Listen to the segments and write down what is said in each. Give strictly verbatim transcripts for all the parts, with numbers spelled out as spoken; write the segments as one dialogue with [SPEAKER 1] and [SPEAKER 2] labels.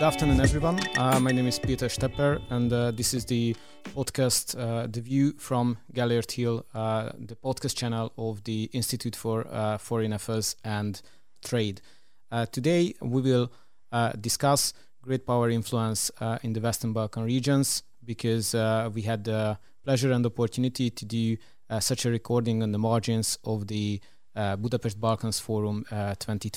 [SPEAKER 1] afternoon, everyone. Uh, my name is Peter Stepper, and uh, this is the podcast, uh, The View from Gellért Hill, uh, the podcast channel of the Institute for uh, Foreign Affairs and Trade. Uh, today, we will uh, discuss great power influence uh, in the Western Balkan regions, because uh, we had the pleasure and opportunity to do uh, such a recording on the margins of the uh, Budapest Balkans Forum uh, twenty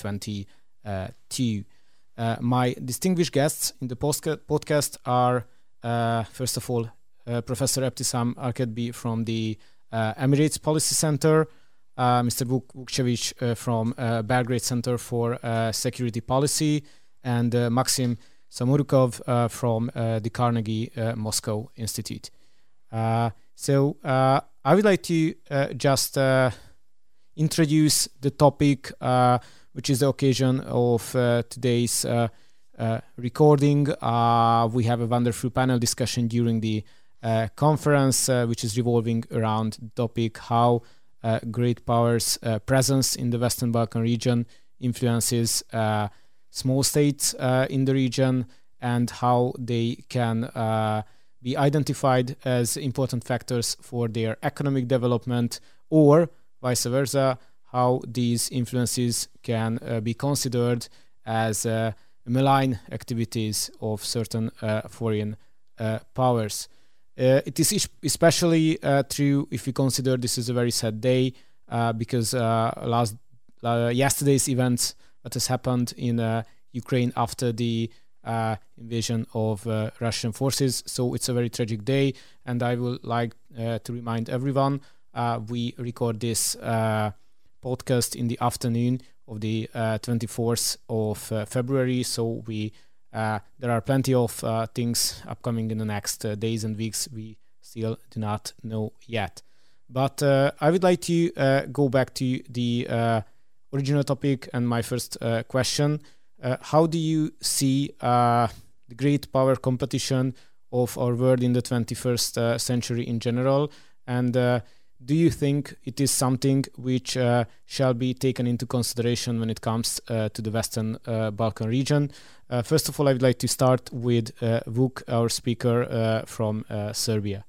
[SPEAKER 1] twenty-two. Uh, my distinguished guests in the postca- podcast are, uh, first of all, uh, Professor Ebtisam Arkadbi from the uh, Emirates Policy Center, uh, Mister Vuk Vukcevic uh, from uh, Belgrade Center for uh, Security Policy, and uh, Maxim Samorukov uh, from uh, the Carnegie uh, Moscow Institute. Uh, so uh, I would like to uh, just uh, introduce the topic uh, which is the occasion of uh, today's uh, uh, recording. Uh, we have a wonderful panel discussion during the uh, conference, uh, which is revolving around the topic how uh, great powers' uh, presence in the Western Balkan region influences uh, small states uh, in the region, and how they can uh, be identified as important factors for their economic development, or vice versa, how these influences can uh, be considered as uh, malign activities of certain uh, foreign uh, powers. Uh, it is especially uh, true if we consider this is a very sad day, uh, because uh, last uh, yesterday's events that has happened in uh, Ukraine after the uh, invasion of uh, Russian forces. So it's a very tragic day, and I would like uh, to remind everyone uh, we record this uh, podcast in the afternoon of the uh, twenty-fourth of uh, February, so we uh, there are plenty of uh, things upcoming in the next uh, days and weeks we still do not know yet. But uh, I would like to uh, go back to the uh, original topic and my first uh, question. Uh, how do you see uh, the great power competition of our world in the twenty-first uh, century in general, and uh, do you think it is something which uh, shall be taken into consideration when it comes uh, to the Western uh, Balkan region? Uh, first of all, I would like to start with uh, Vuk, our speaker uh, from uh, Serbia.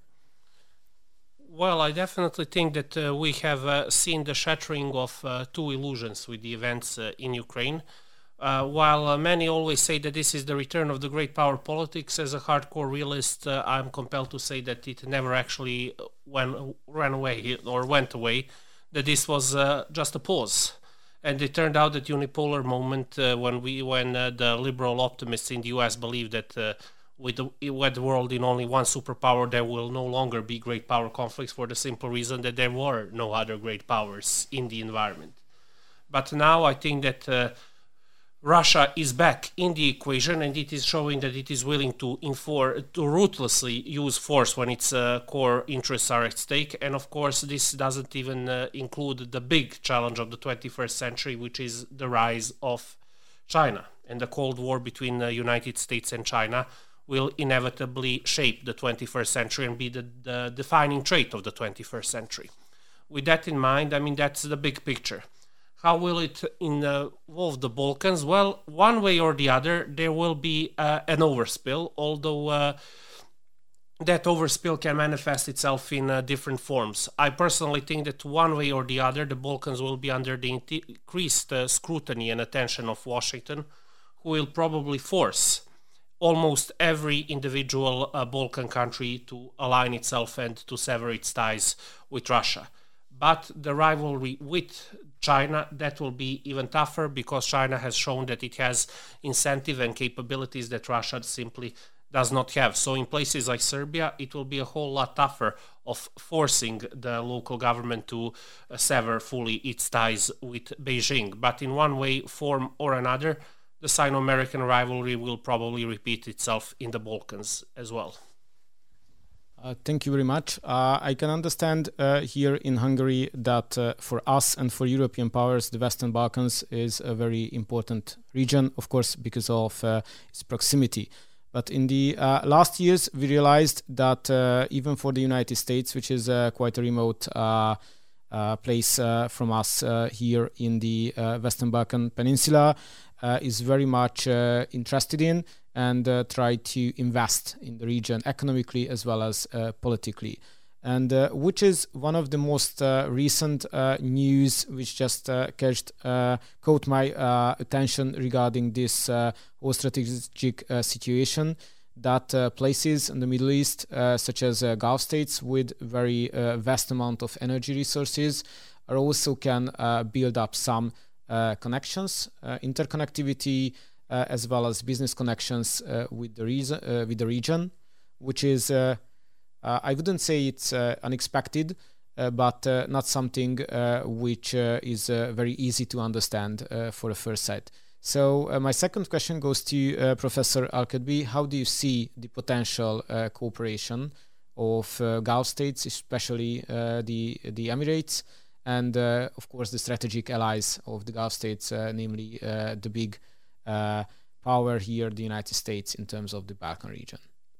[SPEAKER 2] Well, I definitely think that uh, we have uh, seen the shattering of uh, two illusions with the events uh, in Ukraine. Uh, while uh, many always say that this is the return of the great power politics, as a hardcore realist, uh, I'm compelled to say that it never actually went, ran away or went away, that this was uh, just a pause. And it turned out that unipolar moment uh, when we when uh, the liberal optimists in the U S believed that uh, with, the, with the world in only one superpower, there will no longer be great power conflicts, for the simple reason that there were no other great powers in the environment. But now I think that uh, Russia is back in the equation, and it is showing that it is willing to enforce, to ruthlessly use force when its uh, core interests are at stake. And of course, this doesn't even uh, include the big challenge of the twenty-first century, which is the rise of China. And the Cold War between the United States and China will inevitably shape the twenty-first century and be the, the defining trait of the twenty-first century. With that in mind, I mean, that's the big picture. How will it involve the Balkans? Well, one way or the other, there will be uh, an overspill, although uh, that overspill can manifest itself in uh, different forms. I personally think that one way or the other, the Balkans will be under the increased uh, scrutiny and attention of Washington, who will probably force almost every individual uh, Balkan country to align itself and to sever its ties with Russia. But the rivalry with China, that will be even tougher, because China has shown that it has incentive and capabilities that Russia simply does not have. So in places like Serbia, it will be a whole lot tougher of forcing the local government to uh, sever fully its ties with Beijing. But in one way, form or another, the Sino-American rivalry will probably repeat itself in the Balkans as well.
[SPEAKER 1] Uh, thank you very much. Uh, I can understand uh, here in Hungary that uh, for us and for European powers, the Western Balkans is a very important region, of course, because of uh, its proximity. But in the uh, last years, we realized that uh, even for the United States, which is uh, quite a remote uh, uh, place uh, from us uh, here in the uh, Western Balkan Peninsula, uh, is very much uh, interested in. and uh, try to invest in the region economically as well as uh, politically. And uh, which is one of the most uh, recent uh, news which just uh, catched, uh, caught my uh, attention regarding this uh, whole strategic uh, situation that uh, places in the Middle East, uh, such as uh, Gulf states with very uh, vast amount of energy resources, are also can uh, build up some uh, connections, uh, interconnectivity, uh, as well as business connections uh, with the reason, uh, with the region, which is uh, Uh, I wouldn't say it's uh, unexpected, uh, but uh, not something uh, which uh, is uh, very easy to understand uh, for a first sight. So uh, my second question goes to uh, Professor Al-Kadbi. How do you see the potential uh, cooperation of uh, Gulf states, especially uh, the the Emirates, and uh, of course the strategic allies of the Gulf states, uh, namely uh, the big uh, power here, the United States, in terms of the Balkan region?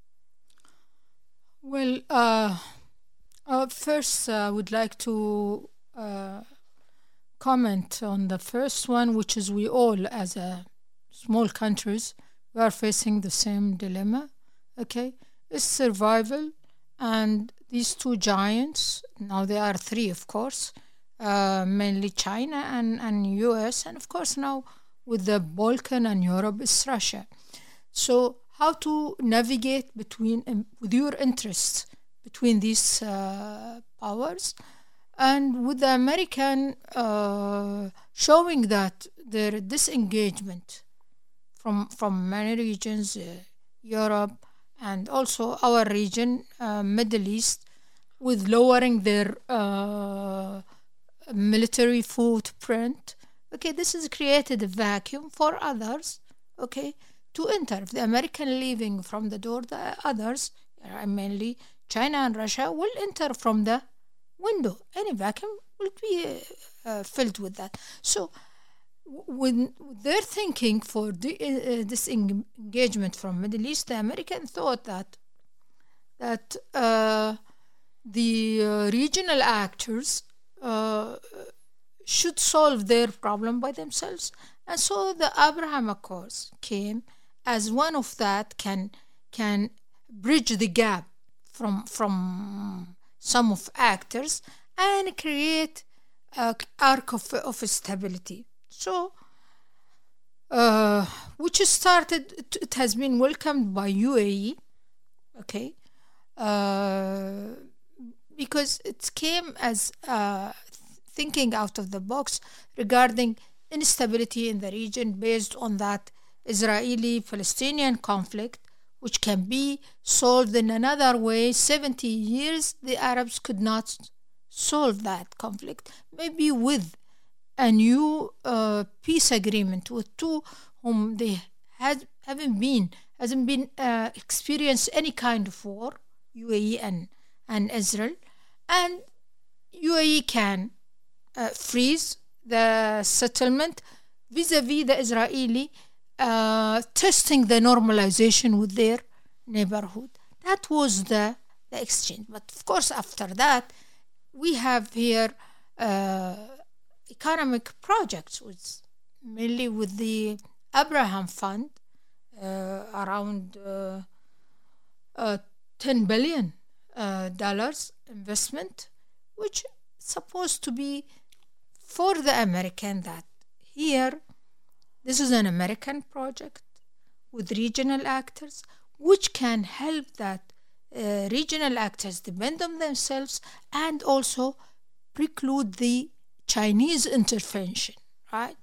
[SPEAKER 3] Well, uh, uh, first I uh, would like to uh, comment on the first one, which is we all, as a small countries, we are facing the same dilemma. Okay, it's survival, and these two giants, now there are three, of course, uh, mainly China and and U S, and of course now with the Balkan and Europe, it's Russia. So how to navigate between um, with your interests between these uh, powers, and with the American uh, showing that their disengagement from from many regions, uh, Europe and also our region, uh, Middle East, with lowering their uh, military footprint. Okay, this has created a vacuum for others. Okay. To enter. If the American leaving from the door, the others, uh, mainly China and Russia, will enter from the window. Any vacuum will be uh, uh, filled with that. So when they're thinking for the, uh, this engagement from Middle East, the American thought that that uh, the uh, regional actors uh, should solve their problem by themselves. And so the Abraham Accords came as one of that can can bridge the gap from from some of actors and create an arc of, of stability. So, uh, which started, it has been welcomed by U A E, okay, uh, because it came as uh, thinking out of the box regarding instability in the region based on that Israeli-Palestinian conflict, which can be solved in another way. seventy years, the Arabs could not solve that conflict. Maybe with a new uh, peace agreement with two whom they had haven't been hasn't been uh, experienced any kind of war, U A E and and Israel, and U A E can uh, freeze the settlement vis-a-vis the Israeli, uh, testing the normalization with their neighborhood. That was the, the exchange. But of course, after that, we have here uh, economic projects, with, mainly with the Abraham Fund, uh, around uh, uh, ten billion dollars uh, investment, which is supposed to be for the American, that here, this is an American project with regional actors, which can help that uh, regional actors depend on themselves and also preclude the Chinese intervention, right?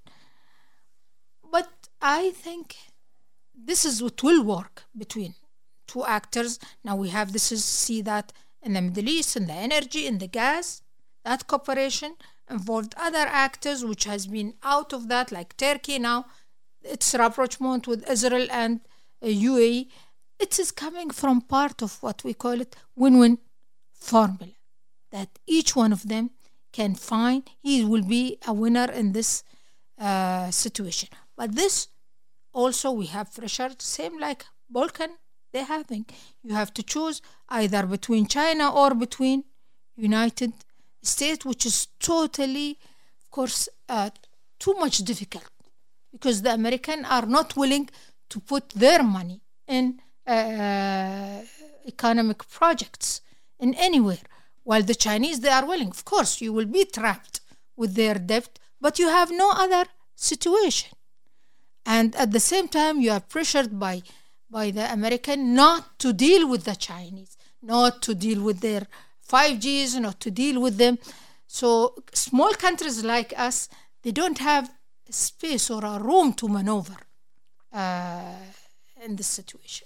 [SPEAKER 3] But I think this is what will work between two actors. Now we have this is see that in the Middle East, in the energy, in the gas, that cooperation involved other actors which has been out of that, like Turkey now, its rapprochement with Israel and uh, U A E. It is coming from part of what we call it win-win formula, that each one of them can find he will be a winner in this uh, situation. But this also we have pressure, same like Balkan they're having. You have to choose either between China or between United States, which is totally, of course, uh, too much difficult, because the Americans are not willing to put their money in uh, economic projects in anywhere. While the Chinese, they are willing. Of course, you will be trapped with their debt, but you have no other situation. And at the same time, you are pressured by, by the American not to deal with the Chinese, not to deal with their five Gs, not to deal with them. So small countries like us, they don't have space or a room to maneuver uh, in this situation.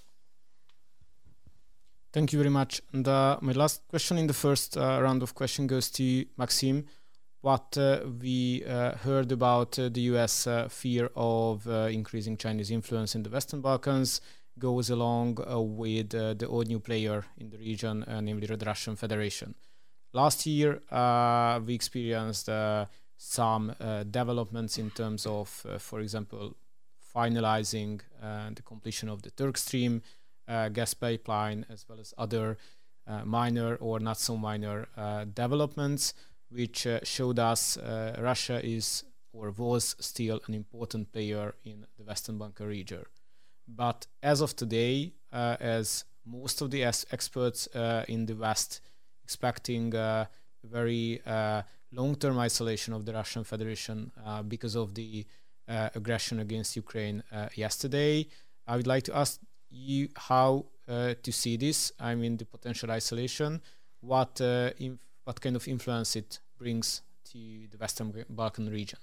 [SPEAKER 1] Thank you very much. And uh, my last question in the first uh, round of question goes to Maxime. What uh, we uh, heard about uh, the U S uh, fear of uh, increasing Chinese influence in the Western Balkans goes along uh, with uh, the old new player in the region, uh, namely the Russian Federation. Last year, uh, we experienced uh, some uh, developments in terms of, uh, for example, finalizing uh, the completion of the Turk Stream uh, gas pipeline, as well as other uh, minor or not so minor uh, developments, which uh, showed us uh, Russia is or was still an important player in the Western Balkan region. But as of today, uh, as most of the experts uh, in the West expecting uh, very uh, long-term isolation of the Russian Federation uh, because of the uh, aggression against Ukraine uh, yesterday, I would like to ask you how uh, to see this. I mean, the potential isolation, what uh, inf- what kind of influence it brings to the Western Balkan region.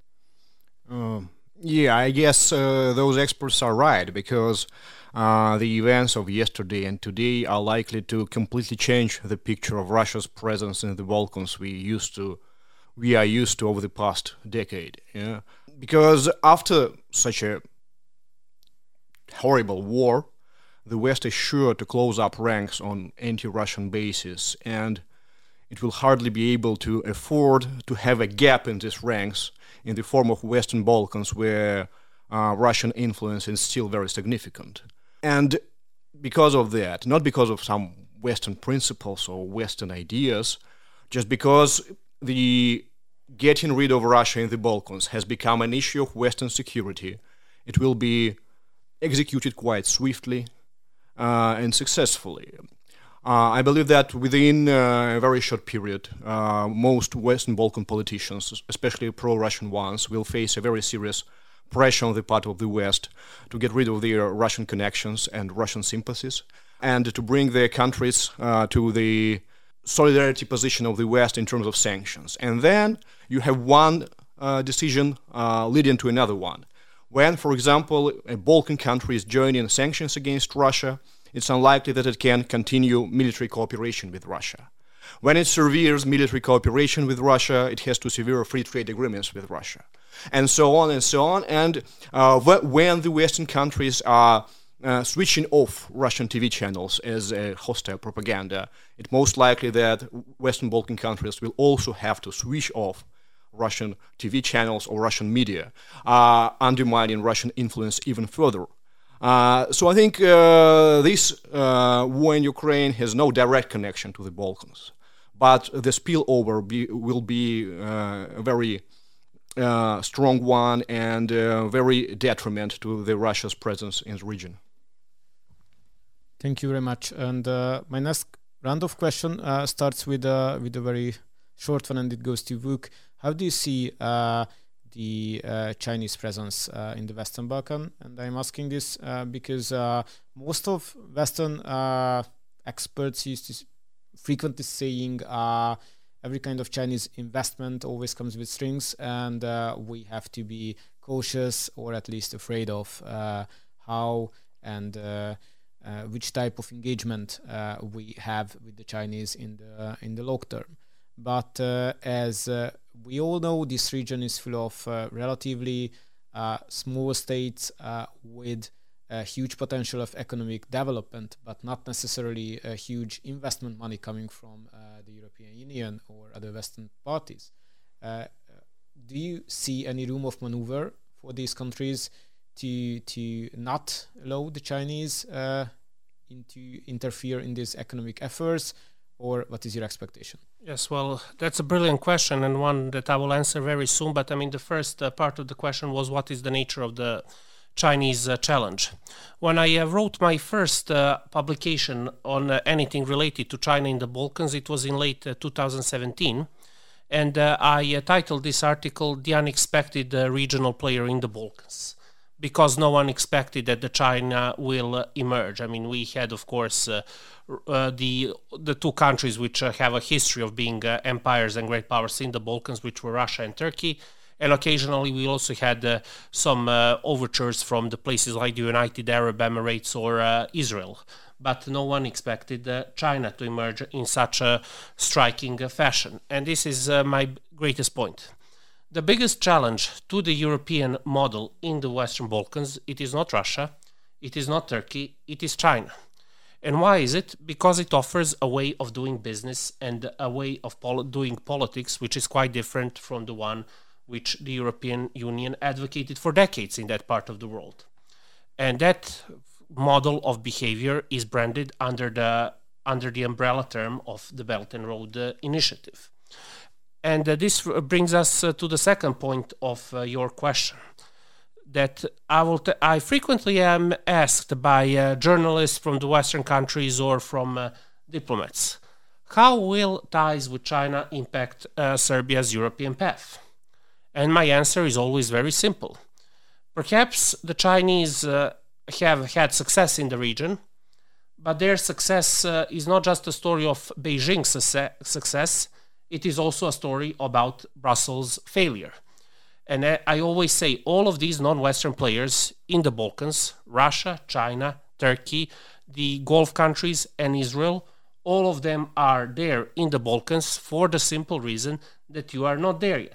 [SPEAKER 4] Um, yeah, I guess uh, those experts are right, because uh, the events of yesterday and today are likely to completely change the picture of Russia's presence in the Balkans we used to, we are used to over the past decade. Yeah? Because after such a horrible war, the West is sure to close up ranks on anti-Russian bases, and it will hardly be able to afford to have a gap in these ranks in the form of Western Balkans, where uh, Russian influence is still very significant. And because of that, not because of some Western principles or Western ideas, just because the getting rid of Russia in the Balkans has become an issue of Western security, it will be executed quite swiftly uh, and successfully. Uh, I believe that within uh, a very short period, uh, most Western Balkan politicians, especially pro-Russian ones, will face a very serious pressure on the part of the West to get rid of their Russian connections and Russian sympathies, and to bring their countries uh, to the solidarity position of the West in terms of sanctions. And then you have one uh, decision uh, leading to another one. When, for example, a Balkan country is joining sanctions against Russia, it's unlikely that it can continue military cooperation with Russia. When it severes military cooperation with Russia, it has to sever free trade agreements with Russia, and so on and so on. And uh, when the Western countries are uh, switching off Russian T V channels as a hostile propaganda, it's most likely that Western Balkan countries will also have to switch off Russian T V channels or Russian media, uh, undermining Russian influence even further. Uh, so I think uh, this uh, war in Ukraine has no direct connection to the Balkans, but the spillover be, will be uh, a very uh, strong one and uh, very detriment to the Russia's presence in the region.
[SPEAKER 1] Thank you very much. And uh, my next round of question uh, starts with uh, with a very short one, and it goes to Vuk. How do you see uh, the uh, Chinese presence uh, in the Western Balkan? And I'm asking this uh, because uh, most of Western uh, experts used to frequently saying uh, every kind of Chinese investment always comes with strings, and uh, we have to be cautious or at least afraid of uh, how and uh, uh, which type of engagement uh, we have with the Chinese in the in the long term. But uh, as uh, we all know, this region is full of uh, relatively uh, small states uh, with a huge potential of economic development, but not necessarily a huge investment money coming from uh, the European Union or other Western parties. Uh, do you see any room of maneuver for these countries to to not allow the Chinese uh, into interfere in these economic efforts? Or what is your expectation?
[SPEAKER 2] Yes, well, that's a brilliant question, and one that I will answer very soon. But I mean, the first uh, part of the question was, what is the nature of the Chinese uh, challenge. When I uh, wrote my first uh, publication on uh, anything related to China in the Balkans, it was in late uh, two thousand seventeen, and uh, I uh, titled this article "The Unexpected uh, Regional Player in the Balkans," because no one expected that the China will uh, emerge. I mean, we had, of course, uh, uh, the the two countries which uh, have a history of being uh, empires and great powers in the Balkans, which were Russia and Turkey. And occasionally we also had uh, some uh, overtures from the places like the United Arab Emirates or uh, Israel. But no one expected uh, China to emerge in such a striking uh, fashion. And this is uh, my greatest point. The biggest challenge to the European model in the Western Balkans, it is not Russia, it is not Turkey, it is China. And why is it? Because it offers a way of doing business and a way of pol- doing politics which is quite different from the one which the European Union advocated for decades in that part of the world. And that model of behavior is branded under the under the umbrella term of the Belt and Road uh, Initiative. And uh, this brings us uh, to the second point of uh, your question, that I will t- I frequently am asked by uh, journalists from the Western countries or from uh, diplomats, how will ties with China impact uh, Serbia's European path? And my answer is always very simple. Perhaps the Chinese uh, have had success in the region, but their success uh, is not just a story of Beijing's su- success, it is also a story about Brussels' failure. And I, I always say all of these non-Western players in the Balkans, Russia, China, Turkey, the Gulf countries, and Israel, all of them are there in the Balkans for the simple reason that you are not there yet.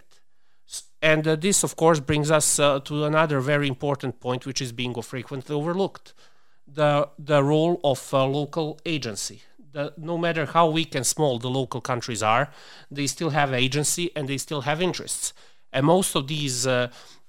[SPEAKER 2] And uh, this, of course, brings us uh, to another very important point, which is being frequently overlooked. The, the role of uh, local agency. The, no matter how weak and small the local countries are, they still have agency and they still have interests. And most of these uh,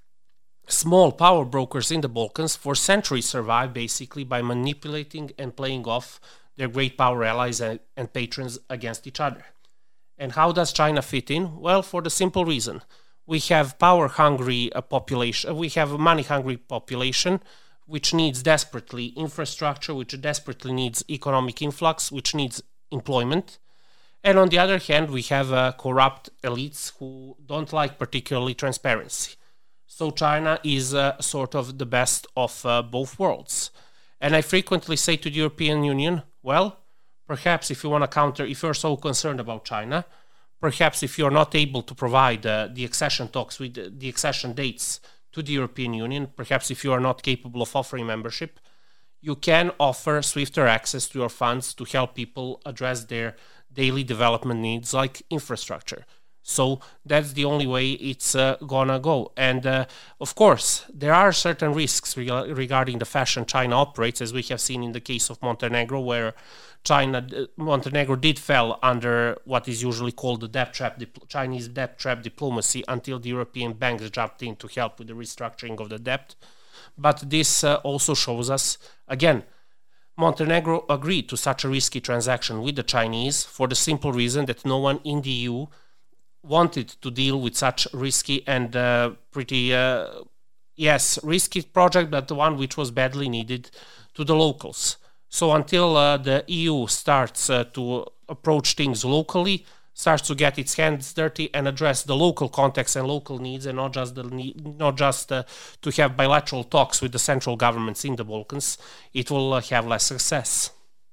[SPEAKER 2] small power brokers in the Balkans for centuries survive basically by manipulating and playing off their great power allies and, and patrons against each other. And how does China fit in? Well, for the simple reason. We have power-hungry uh, population, we have a money-hungry population, which needs desperately infrastructure, which desperately needs economic influx, which needs employment. And on the other hand, we have uh, corrupt elites who don't like particularly transparency. So China is uh, sort of the best of uh, both worlds. And I frequently say to the European Union, well, perhaps if you want to counter, if you're so concerned about China, perhaps if you're not able to provide uh, the accession talks with uh, the accession dates to the European Union, perhaps if you are not capable of offering membership, you can offer swifter access to your funds to help people address their daily development needs like infrastructure. So that's the only way it's uh, gonna go. And uh, of course, there are certain risks re- regarding the fashion China operates, as we have seen in the case of Montenegro, where China, uh, Montenegro did fell under what is usually called the debt trap, dip- Chinese debt trap diplomacy, until the European banks jumped in to help with the restructuring of the debt. But this uh, also shows us, again, Montenegro agreed to such a risky transaction with the Chinese for the simple reason that no one in the E U wanted to deal with such risky and uh, pretty, uh, yes, risky project, but the one which was badly needed to the locals. So until uh, the E U starts uh, to approach things locally, starts to get its hands dirty and address the local context and local needs, and not just the need, not just uh, to have bilateral talks with the central governments in the Balkans, it will uh, have less success.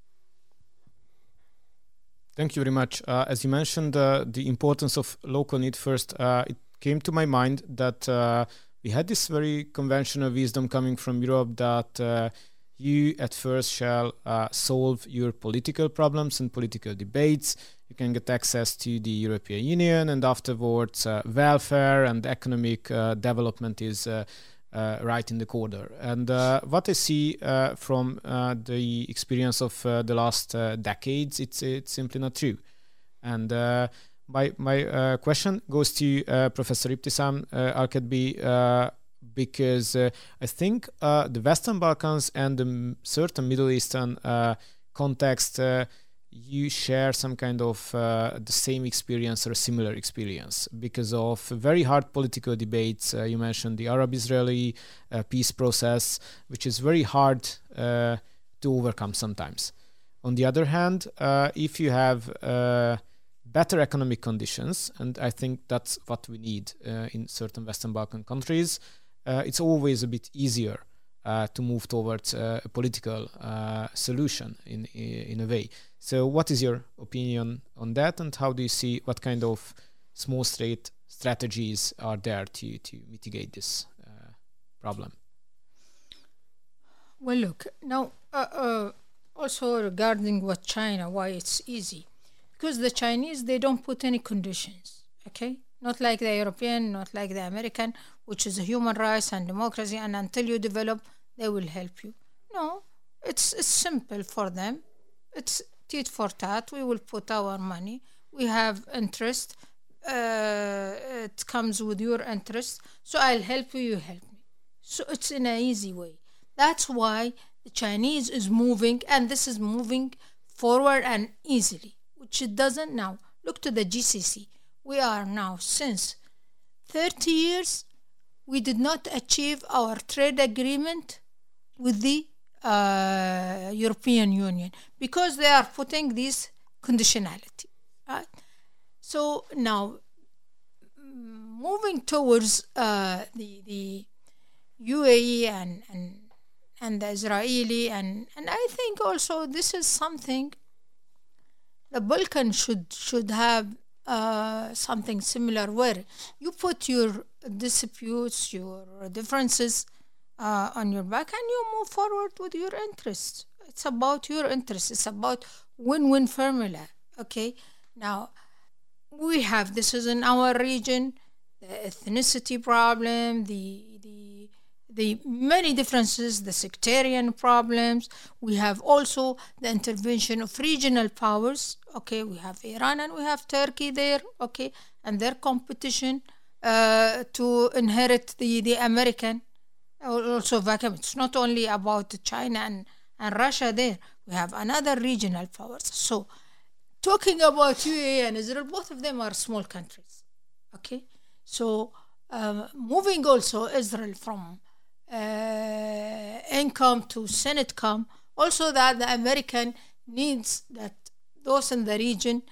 [SPEAKER 1] Thank you very much. Uh, as you mentioned, uh, the importance of local need first, uh, it came to my mind that uh, we had this very conventional wisdom coming from Europe that uh, you at first shall uh, solve your political problems and political debates. You can get access to the European Union, and afterwards uh, welfare and economic uh, development is uh, uh, right in the corner. And uh, what I see uh, from uh, the experience of uh, the last uh, decades, it's it's simply not true. And uh, my my uh, question goes to uh, Professor Ibtisam uh, Alkatbi, uh, because uh, I think uh, the Western Balkans and the certain Middle Eastern uh, context uh, you share some kind of uh, the same experience or a similar experience because of very hard political debates. Uh, you mentioned the Arab-Israeli uh, peace process, which is very hard uh, to overcome sometimes. On the other hand, uh, if you have uh, better economic conditions, and I think that's what we need uh, in certain Western Balkan countries, uh, it's always a bit easier uh, to move towards uh, a political uh, solution in in a way. So what is your opinion on that, and how do you see what kind of small state strategies are there to, to mitigate this uh, problem?
[SPEAKER 3] Well, look, now uh, uh, also regarding what China, why it's easy. Because the Chinese, they don't put any conditions, okay? Not like the European, not like the American, which is human rights and democracy, and until you develop, they will help you. No, it's, it's simple for them. It's tit for tat. We will put our money. We have interest. Uh, it comes with your interest. So I'll help you, you help me. So it's in an easy way. That's why the Chinese is moving, and this is moving forward and easily, which it doesn't now. Look to the G C C. We are now, since thirty years, we did not achieve our trade agreement with the uh, European Union because they are putting this conditionality. Right? So now, moving towards uh, the the U A E and and and the Israeli, and and I think also this is something the Balkan should should have uh, something similar, where you put your disputes, your differences uh, on your back, and you move forward with your interests. It's about your interests. It's about win-win formula. Okay, now we have, this is in our region, the ethnicity problem, the the the many differences, the sectarian problems. We have also the intervention of regional powers. Okay, we have Iran and we have Turkey there. Okay, and their competition uh, to inherit the the American also vacuum. It's not only about China and and Russia there. We have another regional powers. So, talking about U A E and Israel, both of them are small countries. Okay, so uh, moving also Israel from uh, income to Senate-com, also that the American needs that those in the region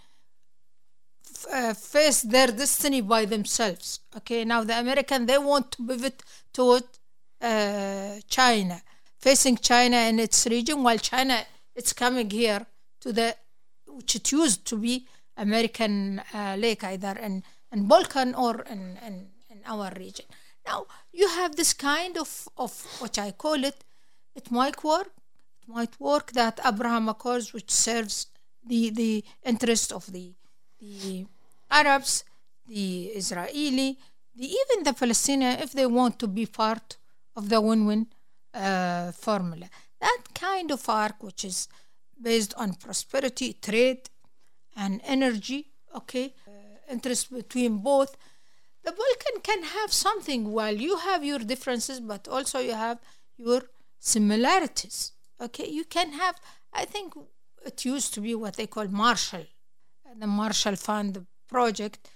[SPEAKER 3] f- uh, face their destiny by themselves. Okay, now the American, they want to pivot toward uh, China, facing China in its region, while China, it's coming here to the, which it used to be American uh, lake, either in, in Balkan or in, in, in our region. Now, you have this kind of, of what I call it, it might work, it might work that Abraham Accords, which serves the, the interest of the, the Arabs, the Israeli, the, even the Palestinians, if they want to be part of the win-win uh, formula. That kind of arc, which is based on prosperity, trade, and energy, okay, uh, interest between both, the Balkan can have something while you have your differences, but also you have your similarities, okay? You can have, I think it used to be what they call Marshall, the Marshall Fund project.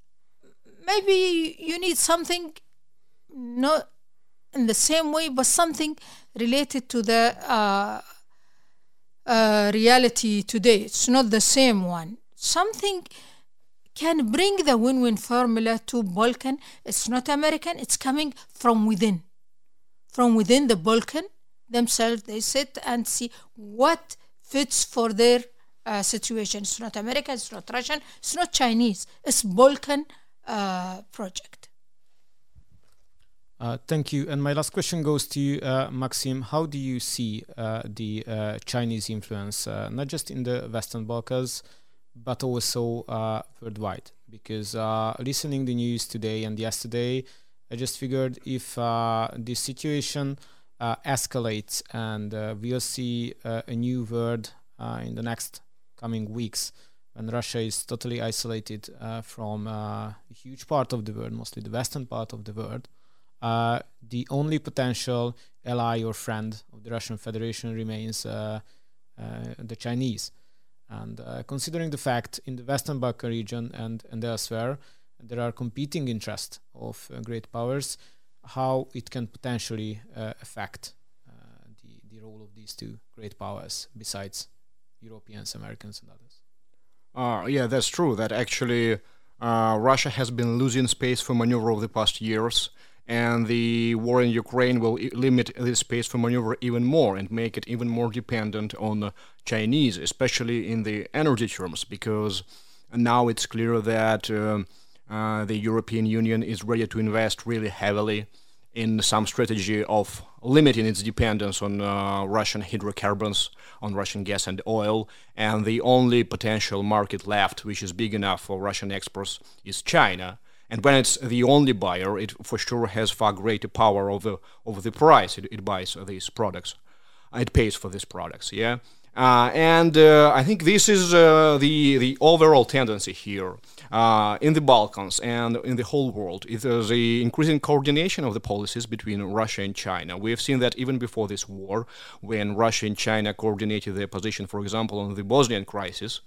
[SPEAKER 3] Maybe you need something not in the same way, but something related to the uh, uh, reality today. It's not the same one. Something can bring the win-win formula to Balkan. It's not American. It's coming from within. From within the Balkan themselves, they sit and see what fits for their uh, situation. It's not American. It's not Russian. It's not Chinese. It's Balkan uh, project.
[SPEAKER 1] Uh, thank you. And my last question goes to you, uh, Maxim. How do you see uh, the uh, Chinese influence, uh, not just in the Western Balkans, but also uh, worldwide? Because uh, listening the news today and yesterday, I just figured if uh, this situation uh, escalates and uh, we'll see uh, a new world uh, in the next coming weeks, when Russia is totally isolated uh, from uh, a huge part of the world, mostly the Western part of the world, Uh, the only potential ally or friend of the Russian Federation remains uh, uh, the Chinese. And uh, considering the fact in the Western Balkan region and, and elsewhere, there are competing interests of uh, great powers, how it can potentially uh, affect uh, the, the role of these two great powers besides Europeans, Americans, and others.
[SPEAKER 4] Uh, yeah, that's true. That actually uh, Russia has been losing space for maneuver over the past years, and the war in Ukraine will I- limit this space for maneuver even more and make it even more dependent on the Chinese, especially in the energy terms, because now it's clear that um, uh, the European Union is ready to invest really heavily in some strategy of limiting its dependence on uh, Russian hydrocarbons, on Russian gas and oil, and the only potential market left which is big enough for Russian exports is China. And when it's the only buyer, it for sure has far greater power over over the price it, it buys these products. It pays for these products, yeah. Uh, and uh, I think this is uh, the the overall tendency here uh, in the Balkans and in the whole world. It is the increasing coordination of the policies between Russia and China. We have seen that even before this war, when Russia and China coordinated their position, for example, on the Bosnian crisis.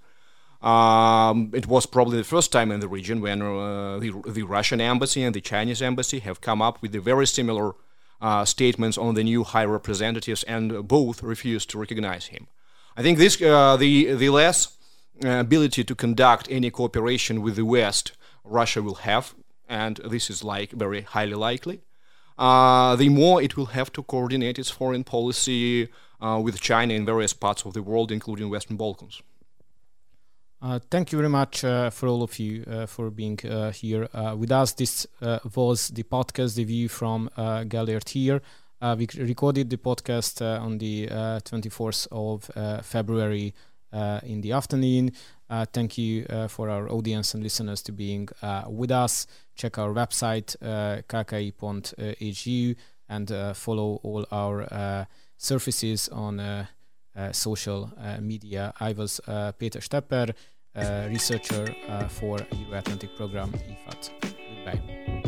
[SPEAKER 4] Um, it was probably the first time in the region when uh, the, the Russian embassy and the Chinese embassy have come up with the very similar uh, statements on the new high representatives, and both refused to recognize him. I think this uh, the the less uh, ability to conduct any cooperation with the West Russia will have, and this is like very highly likely, uh, the more it will have to coordinate its foreign policy uh, with China in various parts of the world, including Western Balkans.
[SPEAKER 1] Uh, thank you very much uh, for all of you uh, for being uh, here uh, with us. This uh, was the podcast, The View from uh, Gellért here. Uh, we recorded the podcast uh, on the uh, twenty-fourth of uh, February uh, in the afternoon. Uh, thank you uh, for our audience and listeners to being uh, with us. Check our website, uh, k k i dot h u, and uh, follow all our uh, services on uh, Uh, social uh, media. I was uh, Péter Stepper, uh, researcher uh, for Euro-Atlantic program I F A T. Goodbye.